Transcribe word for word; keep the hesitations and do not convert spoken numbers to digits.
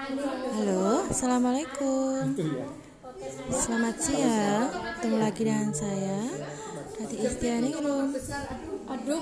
Halo, assalamualaikum. Selamat siang. Ketemu lagi dengan saya, Tati Istiani Rum.